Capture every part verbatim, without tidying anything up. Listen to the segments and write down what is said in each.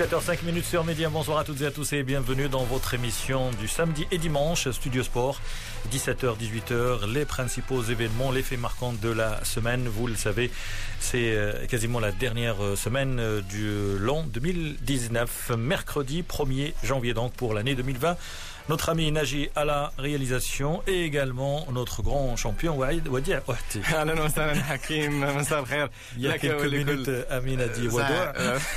dix-sept heures cinq sur Média. Bonsoir à toutes et à tous et bienvenue dans votre émission du samedi et dimanche Studio Sport. dix-sept heures dix-huit heures, les principaux événements, les faits marquants de la semaine. Vous le savez, c'est quasiment la dernière semaine du l'an deux mille dix-neuf. Mercredi premier janvier donc pour l'année deux mille vingt. Notre ami Naji à la réalisation et également notre grand champion Waïd Wadi Ouahti. أهلا وسهلا حكيم مساء الخير. Il y a quelques minutes أمين أدي ودوع.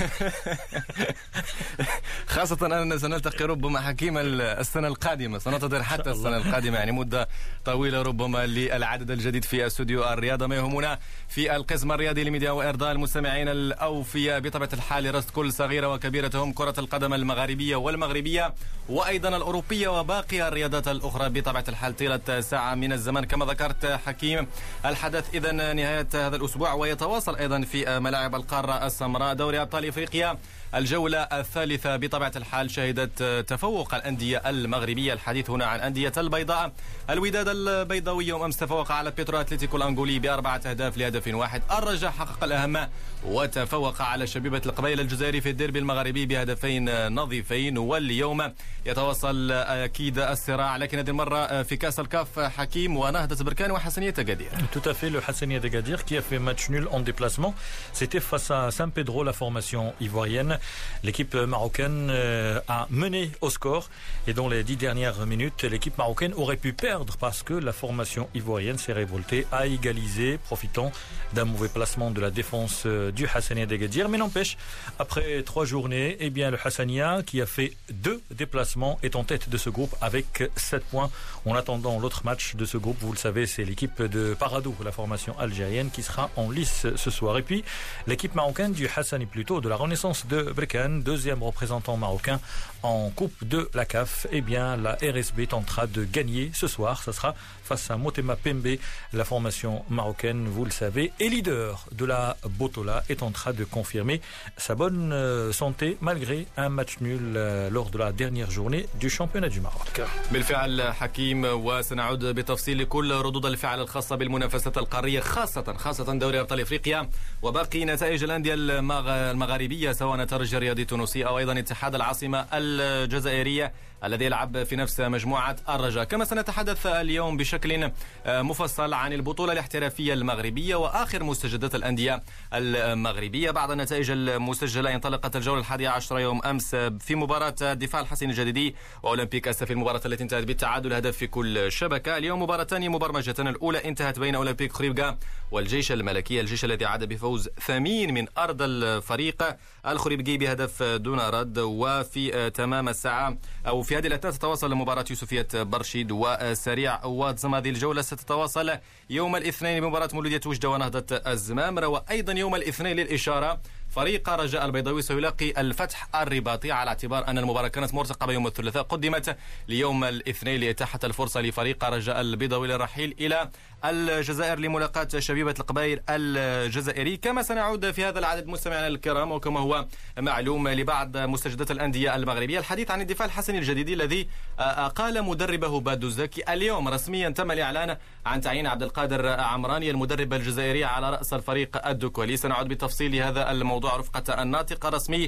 خاصة أننا سنلتقي ربما حكيم السنة القادمة، سننتظر حتى السنة القادمة، يعني مدة طويلة ربما للعدد الجديد في استوديو الرياضة. ما يهمنا في القسم الرياضي لميديا وإرضاء المستمعين الأوفياء بطبيعة الحال رصد كل صغيرة وكبيرة كرة القدم المغاربية والمغربية وأيضا الأوروبية وباقي الرياضات الأخرى بطبيعة الحال طيلة ساعة من الزمن كما ذكرت حكيم. الحدث إذن نهاية هذا الأسبوع ويتواصل أيضا في ملاعب القارة السمراء. دوري أبطال إفريقيا الجولة الثالثة بطبيعة الحال شهدت تفوق الأندية المغربية. الحديث هنا عن أندية البيضاء. الوداد البيضاوي يوم أمس تفوق على بيترو أتلتيكو الأنغولي بأربعة أهداف لهدف واحد. الرجاء حقق الأهم وتفوق على شبيبة القبائل الجزائري في الديربي المغربي بهدفين نظيفين. واليوم يتواصل أكيد الصراع لكن هذه المرة في كأس الكاف حكيم ونهضة بركان وحسنية أكادير. Tout à fait, le Hassania d'Agadir qui a fait match nul en déplacement. C'était face à San Pedro, la formation ivoirienne. L'équipe marocaine a mené au score et dans les dix dernières minutes, l'équipe marocaine aurait pu perdre parce que la formation ivoirienne s'est révoltée, a égalisé, profitant d'un mauvais placement de la défense du Hassania d'Agadir. Mais n'empêche, après trois journées, eh bien le Hassania qui a fait deux déplacements est en tête de ce groupe avec sept points. En attendant l'autre match de ce groupe, vous le savez, c'est l'équipe de Paradou, la formation algérienne, qui sera en lice ce soir. Et puis, l'équipe marocaine du Hassani plutôt, de la Renaissance de Brikane, deuxième représentant marocain en Coupe de la C A F, eh bien, la R S B tentera de gagner ce soir. Ça sera face à Motema Pembe, la formation marocaine, vous le savez, et leader de la Botola, est en train de confirmer sa bonne santé malgré un match nul lors de la dernière journée du championnat du Maroc. بالفعل حكيم وسنعود بتفصيل لكل ردود الفعل الخاصة بالمنافسة القارية خاصة خاصة دوري أبطال إفريقيا وباقي نتائج الأندية المغاربية سواء الترجي الرياضي التونسي أو أيضا اتحاد العاصمة الجزائرية الذي يلعب في نفس مجموعة الرجاء. كما سنتحدث اليوم بشكل مفصل عن البطولة الاحترافية المغربية وآخر مستجدات الأندية المغربية. بعد النتائج المسجلة انطلقت الجولة الحادية عشر يوم أمس في مباراة الدفاع الحسني الجديدي وأولمبيك أسا في المباراة التي انتهت بالتعادل هدف في كل شبكة. اليوم مباراتان مبرمجتان. الأولى انتهت بين أولمبيك خريبكا والجيش الملكي، الجيش الذي عاد بفوز ثمين من أرض الفريق الخريبكي بهدف دون رد. وفي تمام الساعة أو في هذه الأثناء تتواصل مباراة يوسفية برشيد وسريع واتزم. هذه الجولة ستتواصل يوم الاثنين بمباراة مولودية وجدة ونهضة الزمامرة. وأيضا يوم الاثنين للإشارة فريق رجاء البيضاوي سيلاقي الفتح الرباطي على اعتبار أن المباراة كانت مرتقبة يوم الثلاثاء قدمت ليوم الاثنين لإتاحة الفرصة لفريق رجاء البيضاوي للرحيل إلى الجزائر لملاقاة شبيبة القبائل الجزائري. كما سنعود في هذا العدد مستمعينا الكرام وكما هو معلوم لبعض مستجدات الأندية المغربية الحديث عن الدفاع الحسني الجديدي الذي أقال مدربه بادو زكي. اليوم رسميا تم الإعلان عن تعيين عبد القادر عمراني المدرب الجزائري على رأس الفريق الدوكولي. سنعود بتفصيل هذا الموضوع رفقة الناطق الرسمي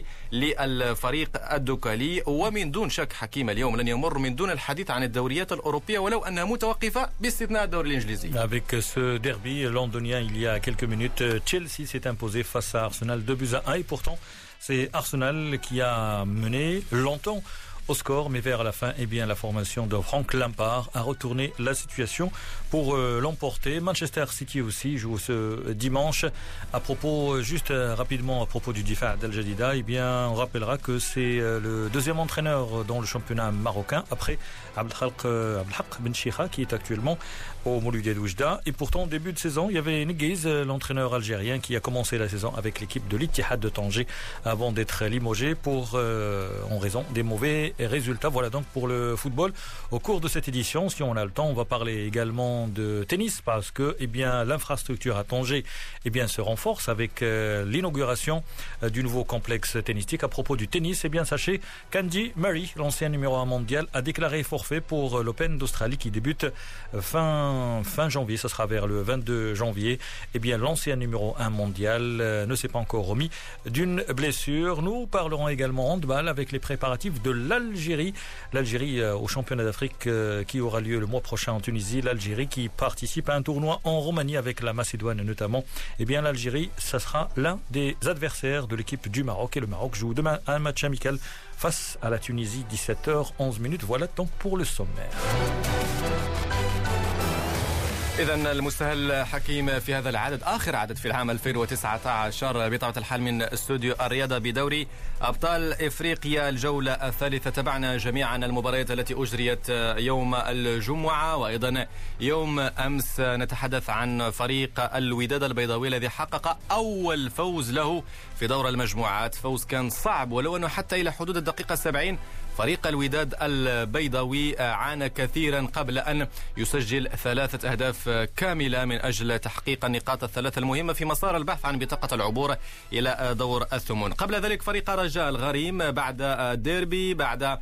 للفريق الدوكالي. ومن دون شك حكيم اليوم لن يمر من دون الحديث عن الدوريات الأوروبية ولو أنها متوقفة باستثناء الدوري الإنجليزي. Avec ce derby londonien il y a quelques minutes, Chelsea s'est imposé face à Arsenal deux buts à un et pourtant c'est Arsenal qui a mené longtemps au score, mais vers la fin, eh bien, la formation de Frank Lampard a retourné la situation pour euh, l'emporter. Manchester City aussi joue ce dimanche. À propos, juste euh, rapidement à propos du Difa d'Al Jadida, eh bien, on rappellera que c'est euh, le deuxième entraîneur dans le championnat marocain après Abdelhaq euh, Ben Chikha qui est actuellement au Mouloudia d'Oujda. Et pourtant, au début de saison, il y avait Neguez, l'entraîneur algérien, qui a commencé la saison avec l'équipe de l'Ittihad de Tanger avant d'être limogé pour euh, en raison des mauvais résultats. Voilà donc pour le football. Au cours de cette édition, si on a le temps, on va parler également de tennis parce que eh bien, l'infrastructure à Tanger eh bien, se renforce avec euh, l'inauguration euh, du nouveau complexe tennistique. À propos du tennis, eh bien, sachez qu'Andy Murray, l'ancien numéro un mondial, a déclaré forfait pour l'Open d'Australie qui débute fin, fin janvier. Ce sera vers le vingt-deux janvier. Eh bien, l'ancien numéro un mondial euh, ne s'est pas encore remis d'une blessure. Nous parlerons également handball avec les préparatifs de l'Algérie. L'Algérie euh, au championnat d'Afrique euh, qui aura lieu le mois prochain en Tunisie. L'Algérie qui participe à un tournoi en Roumanie avec la Macédoine notamment. Eh bien, l'Algérie, ça sera l'un des adversaires de l'équipe du Maroc. Et le Maroc joue demain un match amical face à la Tunisie, dix-sept heures onze. Voilà donc pour le sommaire. إذن المستهل حكيم في هذا العدد آخر عدد في العام ألفين وتسعة عشر بطبيعة الحال من استوديو الرياضة بدوري أبطال إفريقيا الجولة الثالثة. تابعنا جميعا المباريات التي أجريت يوم الجمعة وأيضا يوم أمس. نتحدث عن فريق الوداد البيضاوي الذي حقق أول فوز له في دور المجموعات. فوز كان صعب ولو أنه حتى إلى حدود الدقيقة السبعين فريق الوداد البيضاوي عانى كثيرا قبل أن يسجل ثلاثة أهداف كاملة من أجل تحقيق النقاط الثلاثة المهمة في مسار البحث عن بطاقة العبور إلى دور الثمن. قبل ذلك فريق رجاء الغريم بعد ديربي، بعد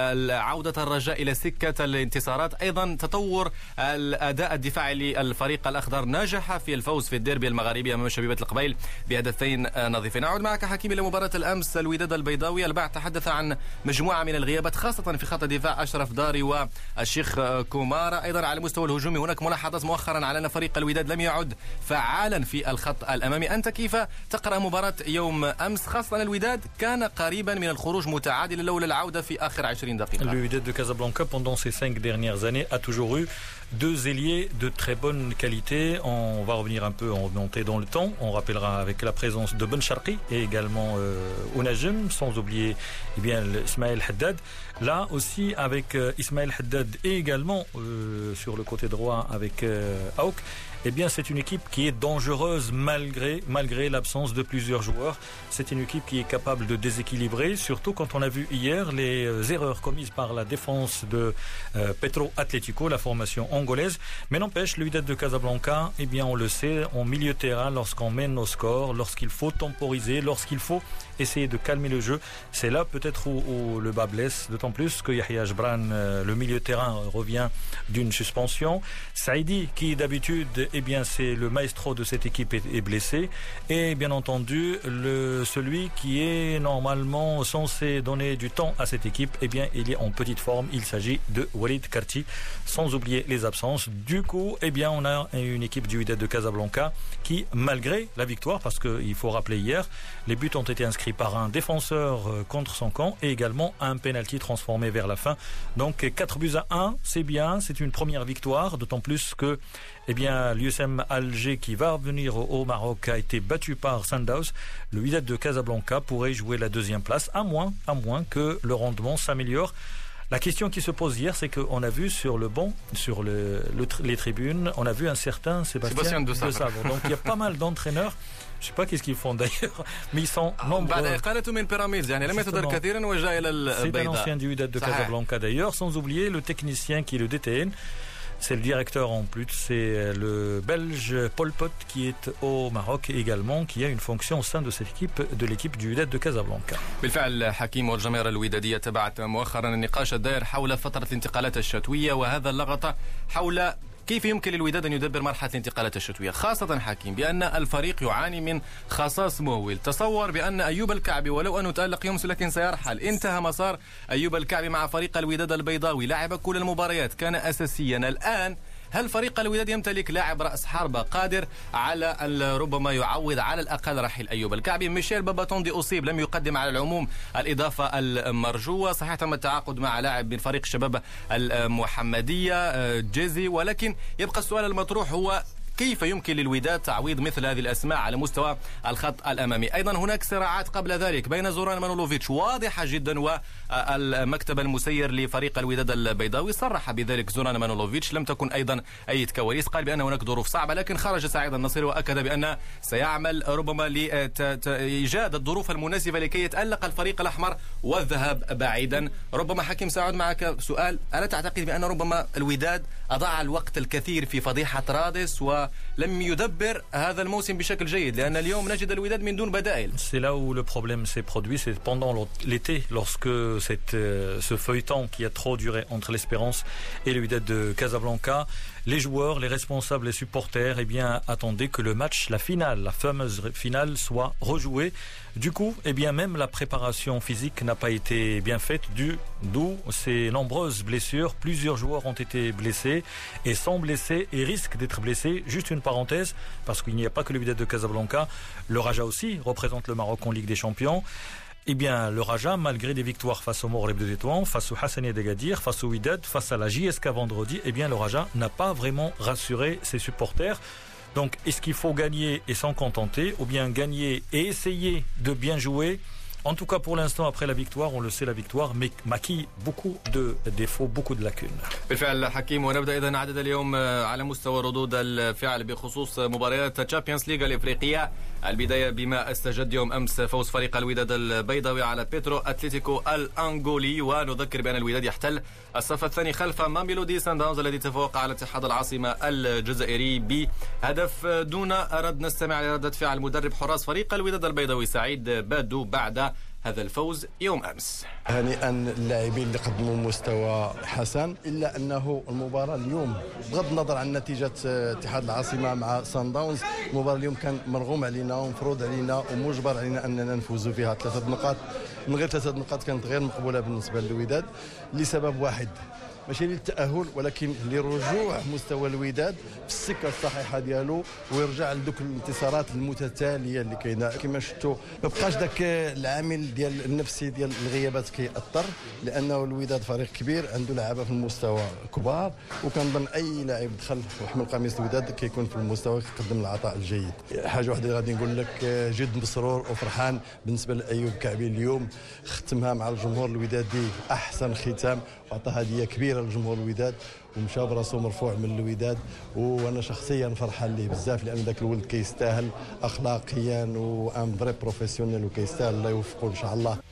عودة الرجاء إلى سكة الانتصارات، أيضا تطور الأداء الدفاعي للفريق الأخضر، نجح في الفوز في الديربي المغاربي أمام شبيبة القبيل بهدفين نظيفين. نعود معك حكيم إلى مباراة الأمس. الوداد البيضاوي البعض تحدث عن مجموعة من الغيابات خاصة في خط الدفاع، أشرف داري والشيخ كومارا. أيضا على المستوى الهجومي هناك ملاحظات مؤخرا على أن فريق الوداد لم يعد فعالا في الخط الأمامي. أنت كيف تقرأ مباراة يوم أمس؟ خاصة الوداد كان قريبا من الخروج متعادلا لولا العودة في آخر عشرين دقيقة. Le Wydad de Casablanca pendant ces cinq dernières années a toujours eu deux ailiers de très bonne qualité. On va revenir un peu, en remonter dans le temps. On rappellera avec la présence de Ben Sharqi et également euh, Ounajem, sans oublier eh bien, Ismaël Haddad. Là aussi avec euh, Ismaël Haddad et également euh, sur le côté droit avec euh, Aouk. Eh bien, c'est une équipe qui est dangereuse malgré, malgré l'absence de plusieurs joueurs. C'est une équipe qui est capable de déséquilibrer, surtout quand on a vu hier les euh, erreurs commises par la défense de euh, Petro Atlético, la formation angolaise. Mais n'empêche, le Wydad de Casablanca, eh bien, on le sait, en milieu de terrain, lorsqu'on mène au score, lorsqu'il faut temporiser, lorsqu'il faut essayer de calmer le jeu, c'est là peut-être où, où le bas blesse, d'autant plus que Yahya Jbran, euh, le milieu de terrain, revient d'une suspension. Saïdi, qui d'habitude, eh bien, c'est le maestro de cette équipe, est, est blessé. Et bien entendu, le, celui qui est normalement censé donner du temps à cette équipe, eh bien, il est en petite forme. Il s'agit de Walid Karti, sans oublier les absences. Du coup, eh bien, on a une équipe du Wydad de Casablanca qui, malgré la victoire, parce qu'il faut rappeler hier, les buts ont été inscrits par un défenseur contre son camp et également un penalty transformé vers la fin. Donc quatre buts à un, c'est bien, c'est une première victoire, d'autant plus que eh bien, l'U S M Alger qui va revenir au Maroc a été battu par Sandows. Le Wydad de Casablanca pourrait jouer la deuxième place, à moins, à moins que le rendement s'améliore. La question qui se pose hier, c'est qu'on a vu sur le banc, sur le, le, les tribunes, on a vu un certain Sébastien, Sébastien de Savre. Donc il y a pas mal d'entraîneurs. Je ne sais pas qu'est-ce qu'ils font d'ailleurs, mais ils sont nombreux. C'est un ancien du Wydad de Casablanca d'ailleurs, sans oublier le technicien qui est le D T N. C'est le directeur en plus, c'est le Belge Paul Pot qui est au Maroc également, qui a une fonction au sein de cette équipe, de l'équipe du Wydad de Casablanca. بالفعل حكيم والجماهير الودادية تبعت مؤخرا النقاش الدائر حول فترة الانتقالات الشتوية وهذا اللغط حول كيف يمكن للوداد أن يدبر مرحلة الانتقالات الشتوية، خاصة حكيم بأن الفريق يعاني من خصاص مهول. تصور بأن أيوب الكعبي ولو أنه تألق يومس لكن سيرحل، انتهى مسار أيوب الكعبي مع فريق الوداد البيضاوي، لعب كل المباريات، كان أساسيا. الآن هل فريق الوداد يمتلك لاعب رأس حربة قادر على ربما يعوض على الأقل رحيل أيوب الكعبي؟ ميشيل باباتوندي أصيب، لم يقدم على العموم الإضافة المرجوة. صحيح تم التعاقد مع لاعب من فريق الشباب المحمدية جيزي، ولكن يبقى السؤال المطروح هو كيف يمكن للوداد تعويض مثل هذه الأسماء على مستوى الخط الأمامي. أيضا هناك صراعات قبل ذلك بين زوران مانولوفيتش واضحة جدا، والمكتب المسير لفريق الوداد البيضاوي صرح بذلك. زوران مانولوفيتش لم تكن أيضا أي كواليس، قال بأن هناك ظروف صعبة، لكن خرج سعيد النصيري وأكد بأن سيعمل ربما لإيجاد الظروف المناسبة لكي يتألق الفريق الأحمر والذهاب بعيدا. ربما حكيم سأعود معك سؤال، ألا تعتقد بأن ربما الوداد أضاع الوقت الكثير في فضيحة رادس ولم يدبر هذا الموسم بشكل جيد، لأن اليوم نجد الوداد من دون بدائل. C'est là où le problème s'est produit, c'est pendant l'été, lorsque cette, ce feuilleton qui a trop duré entre l'Espérance et le Wydad de Casablanca, les joueurs, les responsables, les supporters, eh bien, attendaient que le match, la finale, la fameuse finale, soit rejouée. Du coup, eh bien, même la préparation physique n'a pas été bien faite, d'où ces nombreuses blessures. Plusieurs joueurs ont été blessés et sont blessés et risquent d'être blessés. Juste une parenthèse, parce qu'il n'y a pas que le Wydad de Casablanca, le Raja aussi représente le Maroc en Ligue des Champions. Eh bien, le Raja, malgré des victoires face au Morleb de Tétouan, face au Hassani d'Agadir, face au Wydad, face à la J S K vendredi, eh bien, le Raja n'a pas vraiment rassuré ses supporters. Donc, est-ce qu'il faut gagner et s'en contenter, ou bien gagner et essayer de bien jouer? En tout cas, pour l'instant, après la victoire, on le sait, la victoire maquille beaucoup de défauts, beaucoup de lacunes. بالفعل حكيم، ونبدأ إذن عدد اليوم على مستوى ردود الفعل بخصوص مباريات تشامبيونز ليغ الإفريقية. البداية بما استجد يوم أمس فوز فريق الوداد البيضاوي على بيترو أتلتيكو الأنغولي، ونذكر بأن الوداد يحتل الصف الثاني خلف ماميلودي سانداونز الذي تفوق على اتحاد العاصمة الجزائري بهدف دون رد. نستمع لردة فعل مدرب حراس فريق الوداد البيضاوي سعيد بادو بعد هذا الفوز يوم أمس. هنيئا اللاعبين اللي قدموا مستوى حسن، إلا أنه المباراة اليوم بغض النظر عن نتيجة اتحاد العاصمة مع سان داونز، المباراة اليوم كان مرغوم علينا ومفروض علينا ومجبر علينا أننا نفوزوا فيها. ثلاثة نقاط من غير ثلاثة نقاط كانت غير مقبولة بالنسبة للوداد لسبب واحد، ماشي للتأهل ولكن لرجوع مستوى الوداد في السكة الصحيحة ديالو ويرجع لذوك الانتصارات المتتالية اللي كاينه. كما شفتوا ما بقاش داك العامل ديال النفسي ديال الغيابات كيأثر، لأنه الوداد فريق كبير عنده لعابة في المستوى كبار، وكنظن أي لاعب دخل وحمل قميص الوداد كيكون في المستوى كيقدم العطاء الجيد. حاجة واحدة اللي غادي نقول لك، جد مسرور وفرحان بالنسبة لأيوب كعبي اليوم، ختمها مع الجمهور الودادي أحسن ختام، وعطى هدية كبيرة لجمهور الوداد ومشى براسو مرفوع من الوداد، وانا شخصيا فرحان ليه بزاف، لان ذاك الولد كيستاهل اخلاقيا وان فري بروفيسيونيل وكيستاهل. الله يوفقه ان شاء الله.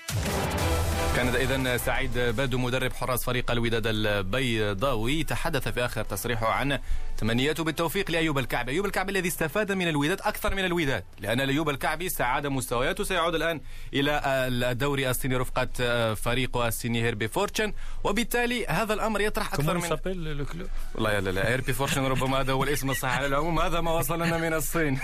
كان إذن سعيد بادو مدرب حراس فريق الوداد البيضاوي تحدث في آخر تصريحه عن تمنياته بالتوفيق لأيوب الكعبي. أيوب الكعبي الذي استفاد من الوداد أكثر من الوداد، لأن أيوب الكعبي استعاد مستوياته، سيعود الآن إلى الدوري الصيني رفقة فريقه الصيني هيربي فورتشن، وبالتالي هذا الأمر يطرح أكثر من والله لا لا هيربي فورتشن ربما هذا هو الاسم الصحيح. على العموم هذا ما وصلنا من الصين.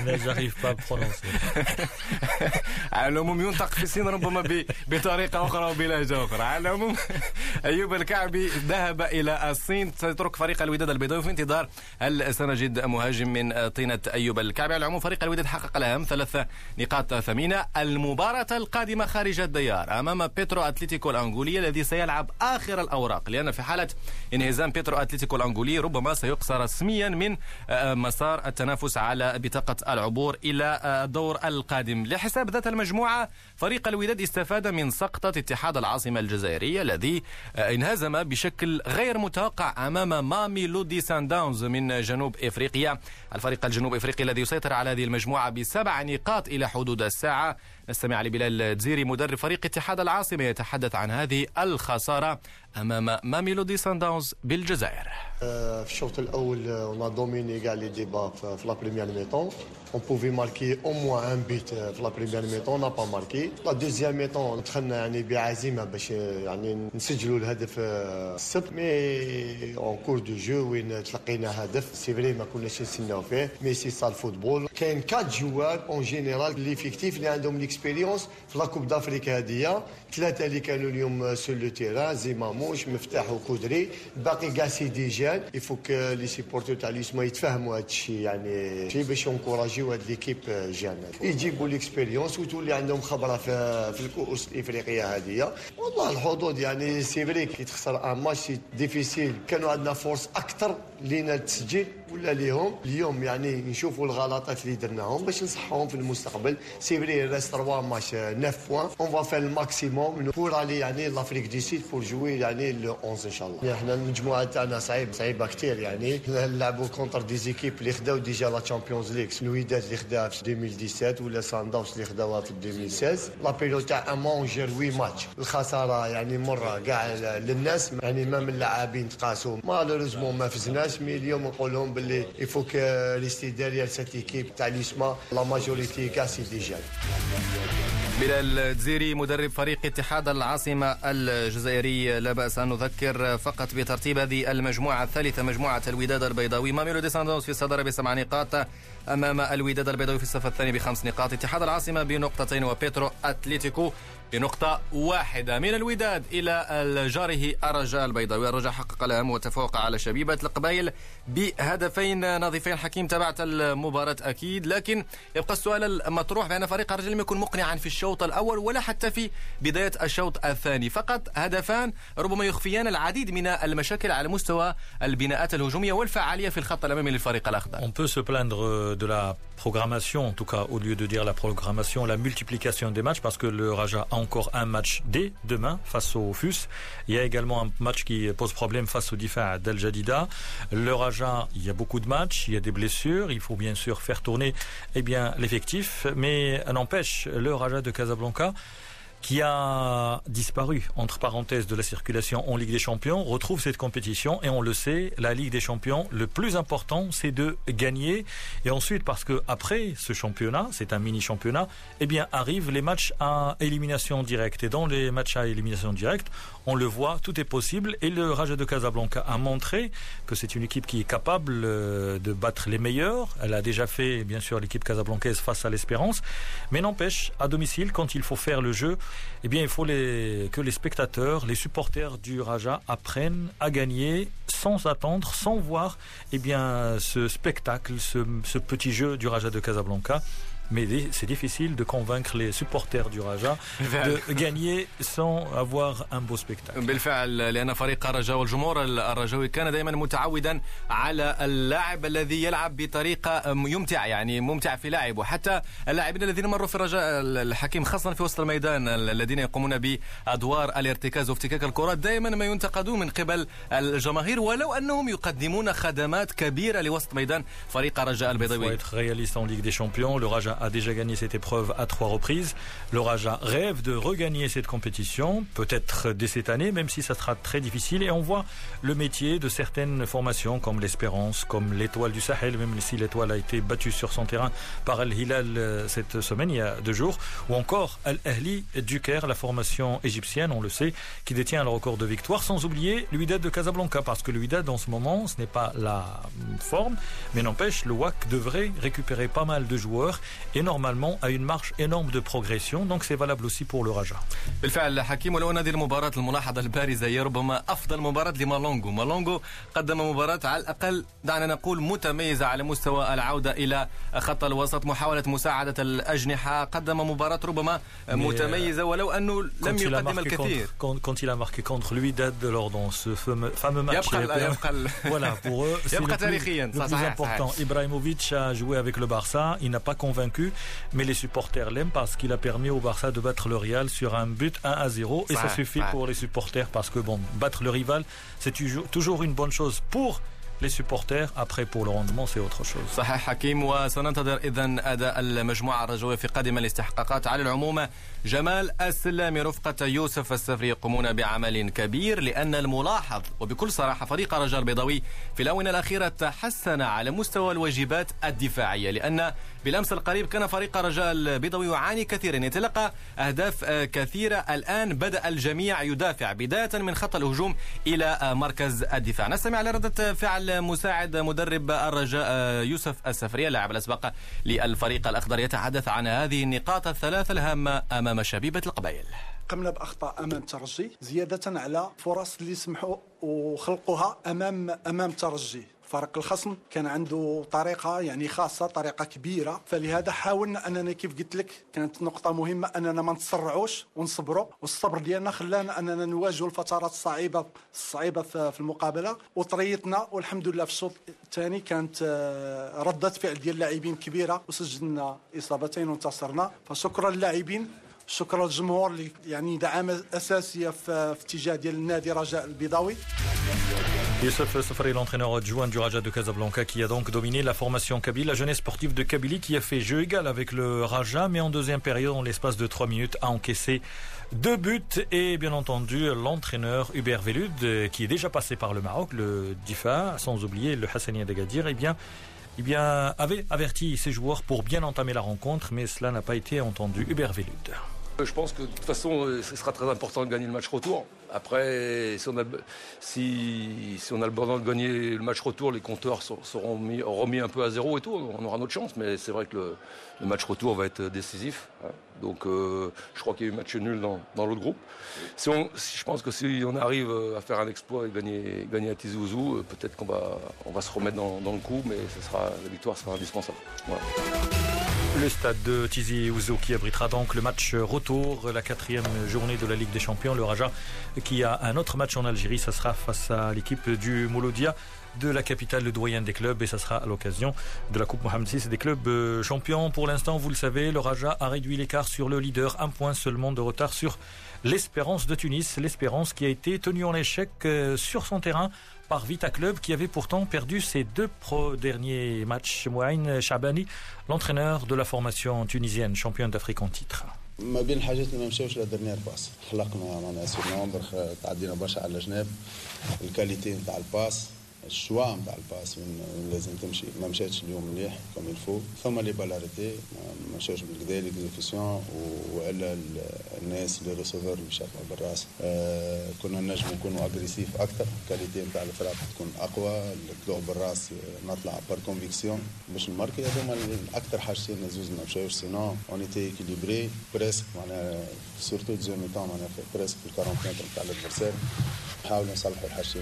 على العموم ينطق في الصين ربما بطريقة أخرى وبلهجة أخرى. على العموم أيوب الكعبي ذهب إلى الصين، سيترك فريق الوداد البيضاوي في انتظار هل سنجد مهاجم من طينة أيوب الكعبي. على العموم فريق الوداد حقق الأهم ثلاث نقاط ثمينة. المباراة القادمة خارج الديار أمام بيترو أتلتيكو الأنغولي الذي سيلعب آخر الأوراق، لأن في حالة انهزام بيترو أتلتيكو الأنغولي ربما سيقصى رسميا من مسار التنافس على بطاقة العبور إلى الدور القادم. لحساب ذات المجموعة فريق الوداد استفاد من سقطة اتحاد العاصمة الجزائرية الذي انهزم بشكل غير متوقع أمام ماميلودي سانداونز من جنوب إفريقيا. الفريق الجنوب إفريقي الذي يسيطر على هذه المجموعة بسبع نقاط إلى حدود الساعة. نستمع لبلال تزيري مدرب فريق اتحاد العاصمة يتحدث عن هذه الخسارة أمام ماميلودي سانداونز بالجزائر. في الشوط الأول on a dominé كاع لي ديبا في لا بريمير ميطون. On pouvait marquer au moins un but في لا بريمير ميطون، on n'a pas marqué. لا دوزيام ميطون دخلنا يعني بعزيمة باش يعني نسجلوا الهدف السبت، مي اون كور دو جو وين تلقينا هدف سي فري ما كناش نستناو فيه، مي سي سا الفوتبول. كاين كات جوار اون جينيرال ليفيكتيف اللي عندهم ليكسبيريونس في لا كوب دافريك هذه، ثلاثة اللي كانوا اليوم سور لو تيران، زيماموش مفتاح وكودري، باقي كاع سي دي جان. يفوك لي سيبورتور تاع اليسما يتفاهموا هذا الشيء، يعني شي باش ينكوراجيو هاد ليكيب جان، يجيبوا ليكسبيريونس وتولي عندهم خبره في في الكؤوس الافريقيه هذه. والله الحظوظ يعني سي فري كي تخسر ان ماتش ديفيسيل، كانوا عندنا فورس اكثر لينا التسجيل ولا ليهم اليوم يعني نشوفوا الغلطات اللي درناهم باش نصحوهم في المستقبل. سي فري ريست ثلاثة ماتش تسعة بوان اون فا فير الماكسيموم بور علي يعني لافريك دي سيد بور جوي يعني لو أحد ان شاء الله. احنا المجموعه تاعنا صعيب صعيبه كثير يعني نلعبوا كونتر دي زيكيب اللي خداو ديجا لا تشامبيونز ليغ الوداد اللي خداها في ألفين وسبعطاش ولا سان داونز اللي خداوها في ألفين وستة عشر. لا بيريود تاع امان جير ثمانية ماتش الخساره يعني مره كاع للناس يعني ما من اللاعبين تقاسوا مالوريزمون ما فزناش. مي اليوم نقول لهم باللي يفوك ريستي ديريير سيت ايكيب تاع ليسما لا ماجوريتي كاع سي ديجا. بلال الدزيري مدرب فريق اتحاد العاصمة الجزائري، لا بأس أن نذكر فقط بترتيب هذه المجموعة الثالثة مجموعة الوداد البيضاوي. ماميلودي سانداونز في الصدارة بسبع نقاط أمام الوداد البيضاوي في الصف الثاني بخمس نقاط، اتحاد العاصمة بنقطتين وبيترو أتليتيكو بنقطة واحدة. من الوداد إلى جاره الرجاء البيضاوي، الرجاء حقق الأهم وتفوق على شبيبة القبائل بهدفين نظيفين. حكيم تابعت المباراة أكيد، لكن يبقى السؤال المطروح بأن فريق الرجاء لم يكن مقنعا في الشوط الأول ولا حتى في بداية الشوط الثاني. فقط هدفان ربما يخفيان العديد من المشاكل على مستوى البناءات الهجومية والفعالية في الخط الأمامي للفريق الأخضر. On peut se plaindre de la programmation, en tout cas au lieu de dire la programmation, la multiplication des matchs, parce que le Raja a encore un match dès demain face au F U S. Il y a également un match qui pose problème face au Difa d'Al Jadida. Le Raja, il y a beaucoup de matchs, il y a des blessures, il faut bien sûr faire tourner eh bien, l'effectif, mais n'empêche, le Raja de Casablanca, qui a disparu, entre parenthèses, de la circulation en Ligue des Champions, retrouve cette compétition. Et on le sait, la Ligue des Champions, le plus important, c'est de gagner. Et ensuite, parce que après ce championnat, c'est un mini-championnat, eh bien, arrivent les matchs à élimination directe. Et dans les matchs à élimination directe, on le voit, tout est possible. Et le Raja de Casablanca a montré que c'est une équipe qui est capable de battre les meilleurs. Elle a déjà fait, bien sûr, l'équipe casablancaise face à l'Espérance. Mais n'empêche, à domicile, quand il faut faire le jeu, eh bien, il faut les, que les spectateurs, les supporters du Raja apprennent à gagner sans attendre, sans voir eh bien, ce spectacle, ce, ce petit jeu du Raja de Casablanca. Mais c'est difficile de convaincre les supporters du Raja de gagner sans avoir un beau spectacle. بالفعل، لأن فريق الرجاء والجمهور الرجاوي كان دائما متعودا على اللاعب الذي يلعب بطريقة يمتع، يعني ممتع في لعب. وحتى اللاعبين الذين مروا في الرجاء الحكيم خاصة في وسط الميدان الذين يقومون بأدوار الارتكاز وافتكاك الكرات دائما ما ينتقدون من قبل الجماهير، ولو أنهم يقدمون خدمات كبيرة لوسط ميدان فريق الرجاء البيضاوي. A déjà gagné cette épreuve à trois reprises. Le Raja rêve de regagner cette compétition, peut-être dès cette année, même si ça sera très difficile. Et on voit le métier de certaines formations comme l'Espérance, comme l'Étoile du Sahel, même si l'Étoile a été battue sur son terrain par Al-Hilal cette semaine, il y a deux jours, ou encore Al-Ahli du Caire, la formation égyptienne, on le sait, qui détient le record de victoire, sans oublier l'Wydad de Casablanca, parce que le Wydad en ce moment, ce n'est pas la forme, mais n'empêche, le W A C devrait récupérer pas mal de joueurs et normalement à une marche énorme de progression, donc c'est valable aussi pour le Raja. بالفعل حكيم، ولو أن هذه المباراة الملاحظة البارزة هي ربما أفضل مباراة لمالونغو. مالونغو قدم مباراة على الأقل دعنا نقول متميزة على مستوى العودة إلى خط الوسط، محاولة مساعدة الأجنحة، قدم مباراة ربما متميزة ولو أنه لم يقدم الكثير. Quand il a marqué contre l'Wydad lors dans ce fameux match, voilà, pour eux c'est le plus important. Ibrahimovic a joué avec le Barça, il n'a pas convaincu, mais les supporters l'aiment parce qu'il a permis au Barça de battre le Real sur un but un à zéro, et ça suffit pour les supporters, parce que bon, battre le rival c'est toujours, toujours une bonne chose pour les supporters. Après pour le rendement c'est autre chose. صحيح حكيم، وسننتظر إذن أداء المجموعة الرجوية في قادم الاستحقاقات. على العموم جمال السلامي رفقة يوسف السفري يقومون بعمل كبير، لأن الملاحظ وبكل صراحة فريق الرجاء البيضاوي في الآونة الأخيرة تحسن على مستوى الواجبات الدفاعية، لأن بالأمس القريب كان فريق الرجاء البيضاوي يعاني كثيرا، يتلقى أهداف كثيرة. الآن بدأ الجميع يدافع بداية من خط الهجوم إلى مركز الدفاع. نستمع لردة فعل مساعد مدرب الرجاء يوسف السفري اللاعب الأسبق للفريق الأخضر، يتحدث عن هذه النقاط الثلاث الهامة أمام شبيبة القبائل. قمنا بأخطاء أمام الترجي زيادة على فرص اللي سمحوا وخلقوها أمام أمام الترجي. فريق الخصم كان عنده طريقة يعني خاصة، طريقة كبيرة، فلهذا حاولنا أننا كيف قلت لك كانت نقطة مهمة أننا ما نتسرعوش ونصبروا، والصبر ديالنا خلانا أننا نواجهوا الفترات الصعيبة الصعيبة في المقابلة وطريتنا، والحمد لله في الشوط الثاني كانت ردة فعل ديال اللاعبين كبيرة وسجلنا إصابتين وانتصرنا. فشكرا للاعبين، شكرا للجمهور اللي يعني دعامة أساسية في اتجاه ديال النادي رجاء البيضاوي. Youssef Safari, l'entraîneur adjoint du Raja de Casablanca, qui a donc dominé la formation Kabylie, la jeunesse sportive de Kabylie qui a fait jeu égal avec le Raja, mais en deuxième période, en l'espace de trois minutes, a encaissé deux buts. Et bien entendu, l'entraîneur Hubert Velud, qui est déjà passé par le Maroc, le Difa, sans oublier le Hassania d'Agadir, eh bien, eh bien, avait averti ses joueurs pour bien entamer la rencontre, mais cela n'a pas été entendu. Hubert Velud. Je pense que de toute façon, ce sera très important de gagner le match retour. Après, si on a, si, si on a le besoin de gagner le match retour, les compteurs seront mis, remis un peu à zéro et tout. On aura notre chance, mais c'est vrai que le, le match retour va être décisif. Hein. Donc, euh, je crois qu'il y a eu match nul dans, dans l'autre groupe. Si on, si, je pense que si on arrive à faire un exploit et gagner, gagner à Tizi Ouzou, peut-être qu'on va, on va se remettre dans, dans le coup, mais ce sera, la victoire sera indispensable. Voilà. Le stade de Tizi Ouzou qui abritera donc le match retour, la quatrième journée de la Ligue des Champions. Le Raja qui a un autre match en Algérie, ça sera face à l'équipe du Mouloudia de la capitale, le doyen des clubs, et ça sera à l'occasion de la Coupe Mohamed six des clubs champions. Pour l'instant, vous le savez, le Raja a réduit l'écart sur le leader, un point seulement de retard sur l'Espérance de Tunis. L'Espérance qui a été tenue en échec sur son terrain par Vita Club, qui avait pourtant perdu ses deux pro derniers matchs. Mouaïn Chabani, l'entraîneur de la formation tunisienne, championne d'Afrique en titre. ما بين الحاجات اللي ما مشاوش لا ديرنيير باس، خلقنا معناها سور نومبر، تعدينا برشا على الجناب، الكاليتي نتاع الباس، الشوا نتاع الباس وين لازم تمشي ما مشاتش اليوم مليح كوم الفو. ثم لي بالاريتي ما مشاوش بالكدا ليكزيكسيون، والا الناس اللي ريسيفور اللي شافوا بالراس. آه كنا نجم نكونوا اغريسيف اكثر، الكاليتي نتاع الفرق تكون اقوى، الطلوع بالراس نطلع بار كونفيكسيون باش نماركي. هذوما اكثر حاجتين زوز ما مشاوش، سينون اون ايتي اكيليبري بريسك معناها سورتو دوزيام ميطون معناها بريسك في أربعين متر نتاع الادفيرسير. نحاولوا نصلحوا الحاجتين.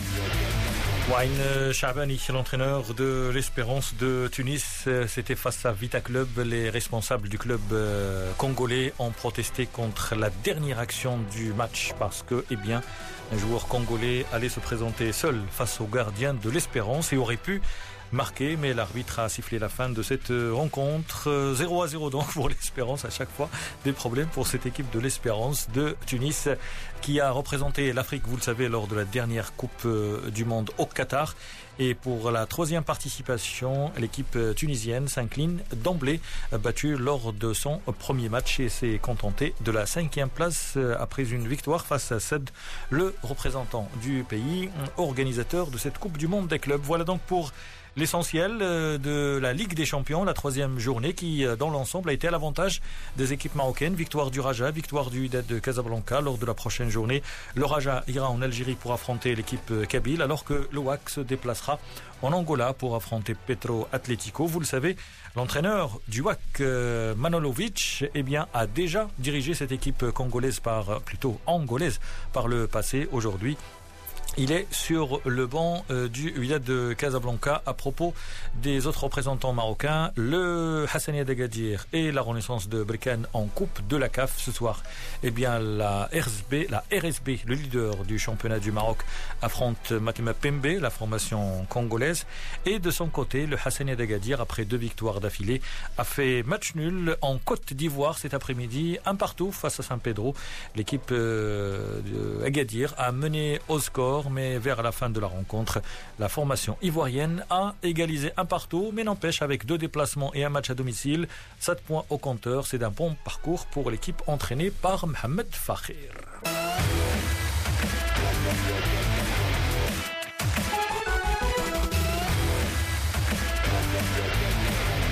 Mouaïn Chabani, l'entraîneur de l'Espérance de Tunis, c'était face à Vita Club. Les responsables du club congolais ont protesté contre la dernière action du match parce que, eh bien, un joueur congolais allait se présenter seul face au gardien de l'Espérance et aurait pu marqué, mais l'arbitre a sifflé la fin de cette rencontre. zéro à zéro donc pour l'Espérance. À chaque fois des problèmes pour cette équipe de l'Espérance de Tunis qui a représenté l'Afrique, vous le savez, lors de la dernière Coupe du Monde au Qatar. Et pour la troisième participation, l'équipe tunisienne s'incline d'emblée, battue lors de son premier match et s'est contentée de la cinquième place après une victoire face à Sed, le représentant du pays, organisateur de cette Coupe du Monde des clubs. Voilà donc pour l'essentiel de la Ligue des Champions, la troisième journée qui, dans l'ensemble, a été à l'avantage des équipes marocaines. Victoire du Raja, victoire du Wydad de Casablanca. Lors de la prochaine journée, le Raja ira en Algérie pour affronter l'équipe kabyle, alors que le W A C se déplacera en Angola pour affronter Petro Atlético. Vous le savez, l'entraîneur du W A C, Manolovic, eh bien, a déjà dirigé cette équipe congolaise par, plutôt angolaise par le passé. Aujourd'hui, il est sur le banc euh, du Wydad de Casablanca. À propos des autres représentants marocains, le Hassania d'Agadir et la Renaissance de Berkane en Coupe de la C A F ce soir. Eh bien, la R S B, la R S B, le leader du championnat du Maroc, affronte Matema Pembe, la formation congolaise. Et de son côté, le Hassania d'Agadir, après deux victoires d'affilée, a fait match nul en Côte d'Ivoire cet après-midi, un partout face à San Pedro. L'équipe euh, d'Agadir a mené au score, mais vers la fin de la rencontre, la formation ivoirienne a égalisé un partout, mais n'empêche, avec deux déplacements et un match à domicile, sept points au compteur. C'est un bon parcours pour l'équipe entraînée par Mohamed Fakhir.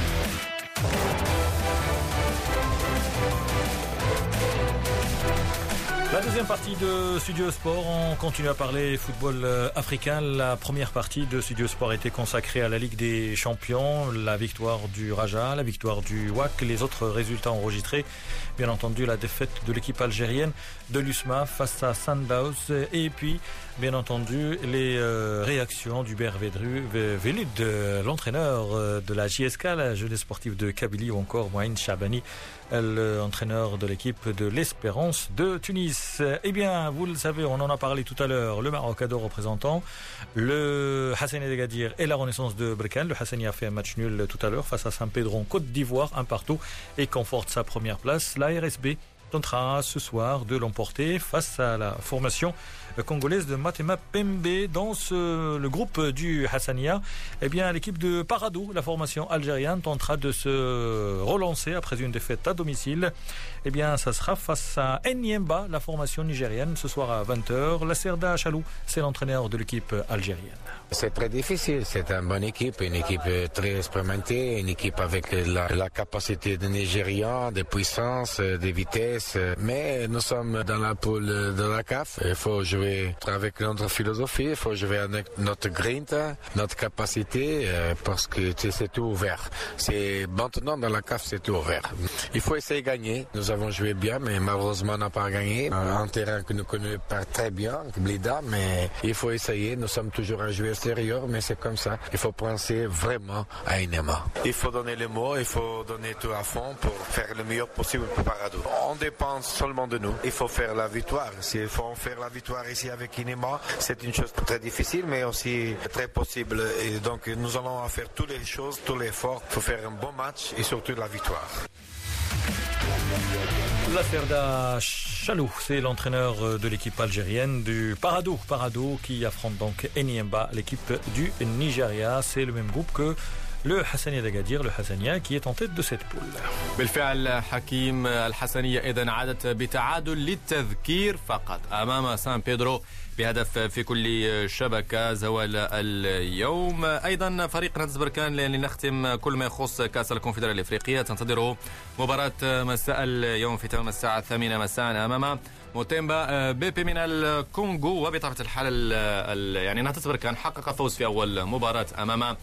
La deuxième partie de Studio Sport, on continue à parler football africain. La première partie de Studio Sport était consacrée à la Ligue des Champions, la victoire du Raja, la victoire du W A C, les autres résultats enregistrés. Bien entendu, la défaite de l'équipe algérienne de l'U S M A face à Sundowns. Et puis, bien entendu, les euh, réactions du Ber Velud, l'entraîneur de la J S K, la jeunesse sportive de Kabylie, ou encore Mohamed Chabani, l'entraîneur de l'équipe de l'Espérance de Tunis. Eh bien, vous le savez, on en a parlé tout à l'heure, le Maroc a deux représentants, le Hassania d'Agadir et la Renaissance de Berkane. Le Hassania a fait un match nul tout à l'heure face à Saint-Pédro en Côte d'Ivoire, un partout, et conforte sa première place. La R S B tentera ce soir de l'emporter face à la formation congolaise de Matema Pembe. Dans ce, le groupe du Hassania, eh bien, l'équipe de Parado, la formation algérienne, tentera de se relancer après une défaite à domicile. Eh bien, ça sera face à Enyimba, la formation nigérienne, ce soir à vingt heures. La Cerda Chalou, c'est l'entraîneur de l'équipe algérienne. C'est très difficile, c'est une bonne équipe, une équipe très expérimentée, une équipe avec la, la capacité de Nigérians, de puissance, de vitesse. Mais nous sommes dans la poule de la C A F. Il faut jouer avec notre philosophie, il faut jouer avec notre grinta, notre capacité, parce que c'est tout ouvert. C'est maintenant dans la C A F, c'est tout ouvert. Il faut essayer de gagner. Nous avons joué bien, mais malheureusement on n'a pas gagné. Un terrain que nous connaissons pas très bien, Blida, mais il faut essayer. Nous sommes toujours à jouer extérieur, mais c'est comme ça. Il faut penser vraiment à Enema. Il faut donner les mots, il faut donner tout à fond pour faire le meilleur possible pour Parado. On dépend seulement de nous. Il faut faire la victoire. S'il faut faire la victoire ici avec Enema, c'est une chose très difficile, mais aussi très possible. Et donc nous allons faire toutes les choses, tous les efforts pour faire un bon match et surtout la victoire. La Cerda Chalou, c'est l'entraîneur de l'équipe algérienne du Parado. Parado qui affronte donc Enyimba, l'équipe du Nigeria. C'est le même groupe que le Hassania d'Agadir, le Hassania qui est en tête de cette poule. بالفعل حكيم الحسنية إذن عادت بتعادل للتذكير فقط أمام سان بيدرو بهدف في كل شبكة زوال اليوم. أيضا فريق نادي بركان لنختم كل ما يخص كأس الكونفدرالية الإفريقية تنتظره مباراة مساء اليوم في تمام الساعة الثامنة مساء أمام موتيمبا بيبي من الكونغو. وبطبيعة الحال يعني نادي بركان حقق فوز في أول مباراة أمام